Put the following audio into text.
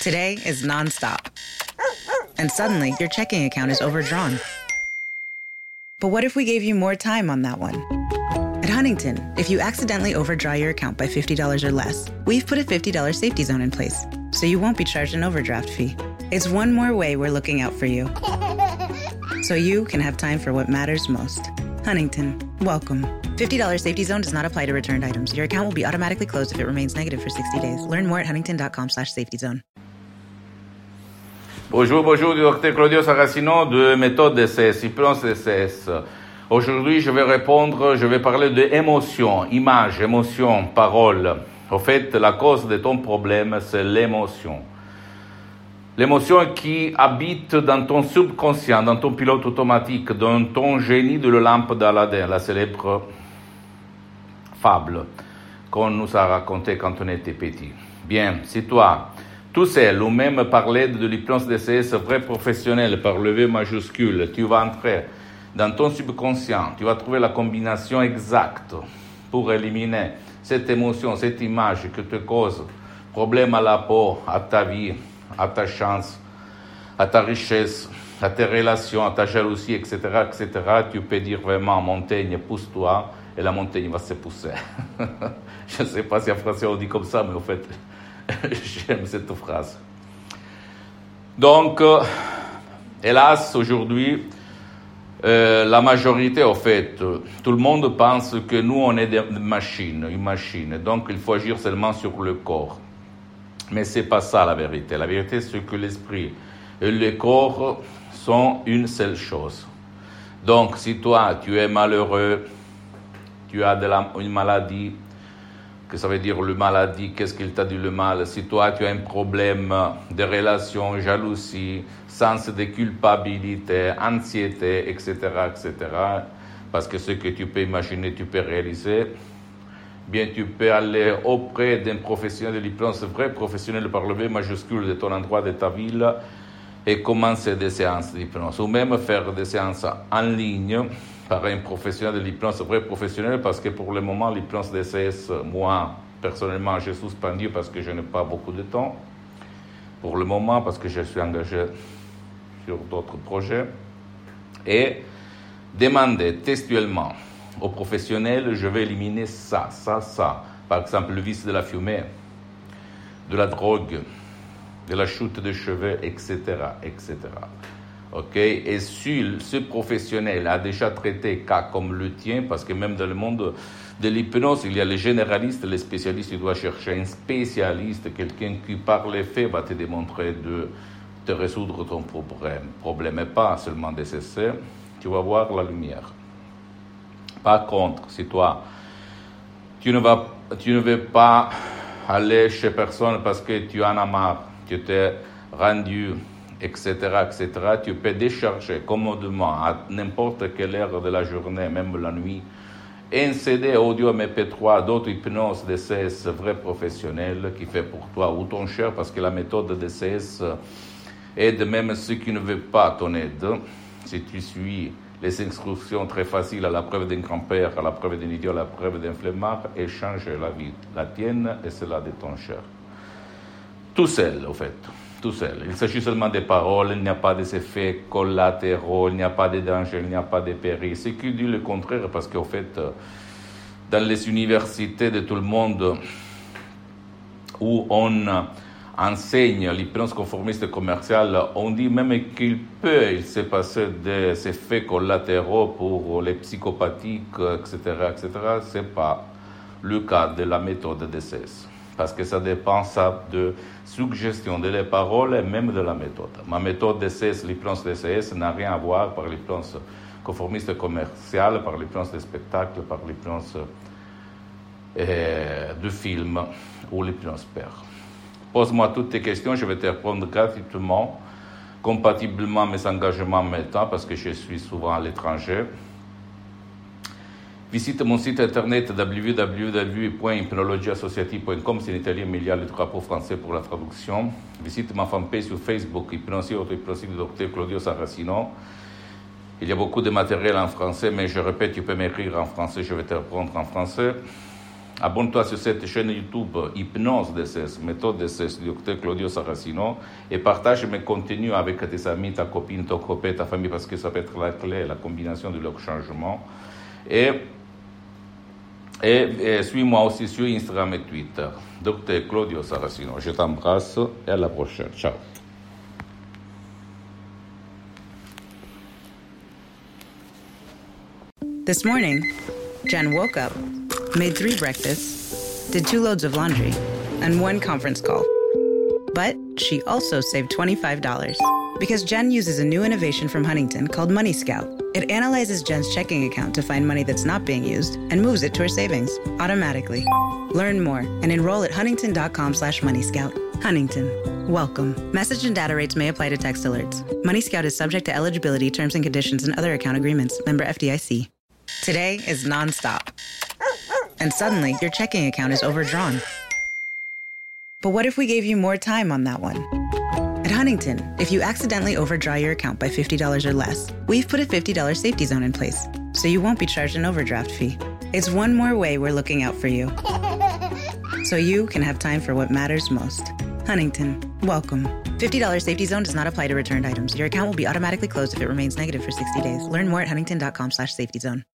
Today is nonstop. And suddenly, your checking account is overdrawn. But what if we gave you more time on that one? At Huntington, if you accidentally overdraw your account by $50 or less, we've put a $50 safety zone in place, so you won't be charged an overdraft fee. It's one more way we're looking out for you, so you can have time for what matters most. Huntington, welcome. $50 safety zone does not apply to returned items. Your account will be automatically closed if it remains negative for 60 days. Learn more at huntington.com/safety zone. Bonjour, du docteur Claudio Saracino de méthode DCS, hypnose DCS. Aujourd'hui, je vais parler de émotion, image, émotion, parole. En fait, la cause de ton problème, c'est l'émotion. L'émotion qui habite dans ton subconscient, dans ton pilote automatique, dans ton génie de la lampe d'Aladin, la célèbre fable qu'on nous a racontée quand on était petit. Bien, si toi, tout seul, ou même par l'aide de l'hypnose DCS vrai professionnel, par le V majuscule, tu vas entrer dans ton subconscient, tu vas trouver la combinaison exacte pour éliminer cette émotion, cette image qui te cause problème à la peau, à ta vie, à ta chance, à ta richesse, à tes relations, à ta jalousie, etc., etc., tu peux dire vraiment, montagne, pousse-toi, et la montagne va se pousser. Je ne sais pas si en français on dit comme ça, mais en fait, j'aime cette phrase. Donc, hélas, aujourd'hui, la majorité, en fait, tout le monde pense que nous, on est une machine. Donc, il faut agir seulement sur le corps. Mais ce n'est pas ça la vérité. La vérité, c'est que l'esprit et le corps sont une seule chose. Donc, si toi, tu es malheureux, tu as une maladie, que ça veut dire le maladie, qu'est-ce qu'il t'a dit le mal? Si toi, tu as un problème de relation, jalousie, sens de culpabilité, anxiété, etc., etc., parce que ce que tu peux imaginer, tu peux réaliser, bien, tu peux aller auprès d'un professionnel de l'hypnose, vrai professionnel par le V majuscule de ton endroit, de ta ville, et commencer des séances d'hypnose, ou même faire des séances en ligne par un professionnel de l'hypnose, vrai professionnel, parce que pour le moment, l'hypnose DCS, moi, personnellement, j'ai suspendu parce que je n'ai pas beaucoup de temps, pour le moment, parce que je suis engagé sur d'autres projets, et demander textuellement aux professionnels, je vais éliminer ça. Par exemple, le vice de la fumée, de la drogue, de la chute de cheveux, etc., etc. Ok? Et si ce professionnel a déjà traité cas comme le tien, parce que même dans le monde de l'hypnose, il y a les généralistes, les spécialistes, tu dois chercher un spécialiste, quelqu'un qui par les faits va te démontrer de te résoudre ton problème et pas seulement des essais, tu vas voir la lumière. Par contre, si toi, tu ne veux pas aller chez personne parce que tu en as marre, tu t'es rendu, etc., etc., tu peux décharger commodément à n'importe quelle heure de la journée, même la nuit, un CD audio MP3 d'autres hypnose DCS vrai professionnel qui fait pour toi ou ton cher, parce que la méthode DCS aide même ceux qui ne veulent pas ton aide. Si tu suis les instructions très faciles à la preuve d'un grand-père, à la preuve d'un idiot, à la preuve d'un flemmard, et changer la vie, la tienne et celle de ton cher. Tout seul, au fait. Tout seul. Il s'agit seulement des paroles, il n'y a pas des effets collatéraux, il n'y a pas de danger, il n'y a pas de péril. Ce qui dit le contraire, parce qu'au fait, dans les universités de tout le monde où on enseigne l'hypnose conformiste commerciale, on dit même qu'il se passer des effets collatéraux pour les psychopathiques, etc., etc. Ce n'est pas le cas de la méthode DCS. Parce que ça dépend de suggestion de les paroles et même de la méthode. Ma méthode DCS, l'hypnose DCS, n'a rien à voir par l'hypnose conformiste commerciale, par l'hypnose de spectacle, par l'hypnose de film ou l'hypnose père. Pose-moi toutes tes questions, je vais te répondre gratuitement, compatiblement à mes engagements en même temps, parce que je suis souvent à l'étranger. Visite mon site internet www.hypnologieassociative.com, c'est en italien, mais il y a le drapeau français pour la traduction. Visite ma fanpage sur Facebook, Hypnosie auto-hypnosie du docteur Claudio Saracino. Il y a beaucoup de matériel en français, mais je répète, tu peux m'écrire en français, je vais te répondre en français. abonne-toi sur cette chaîne YouTube Hypnose DCS, méthode DCS du docteur Claudio Saracino, et partage mes contenus avec tes amis, ta copine, ton copain, ta famille, parce que ça peut être la clé, la combinaison de leur changement. Et suis-moi aussi sur Instagram et Twitter, docteur Claudio Saracino. Je t'embrasse et à la prochaine. Ciao. This morning, Jen woke up, made 3 breakfasts, did 2 loads of laundry, and 1 conference call. But she also saved $25 because Jen uses a new innovation from Huntington called Money Scout. It analyzes Jen's checking account to find money that's not being used and moves it to her savings automatically. Learn more and enroll at huntington.com/moneyscout. Huntington. Welcome. Message and data rates may apply to text alerts. Money Scout is subject to eligibility, terms and conditions, and other account agreements. Member FDIC. Today is nonstop. And suddenly, your checking account is overdrawn. But what if we gave you more time on that one? At Huntington, if you accidentally overdraw your account by $50 or less, we've put a $50 safety zone in place, so you won't be charged an overdraft fee. It's one more way we're looking out for you, so you can have time for what matters most. Huntington, welcome. $50 safety zone does not apply to returned items. Your account will be automatically closed if it remains negative for 60 days. Learn more at huntington.com/safety zone.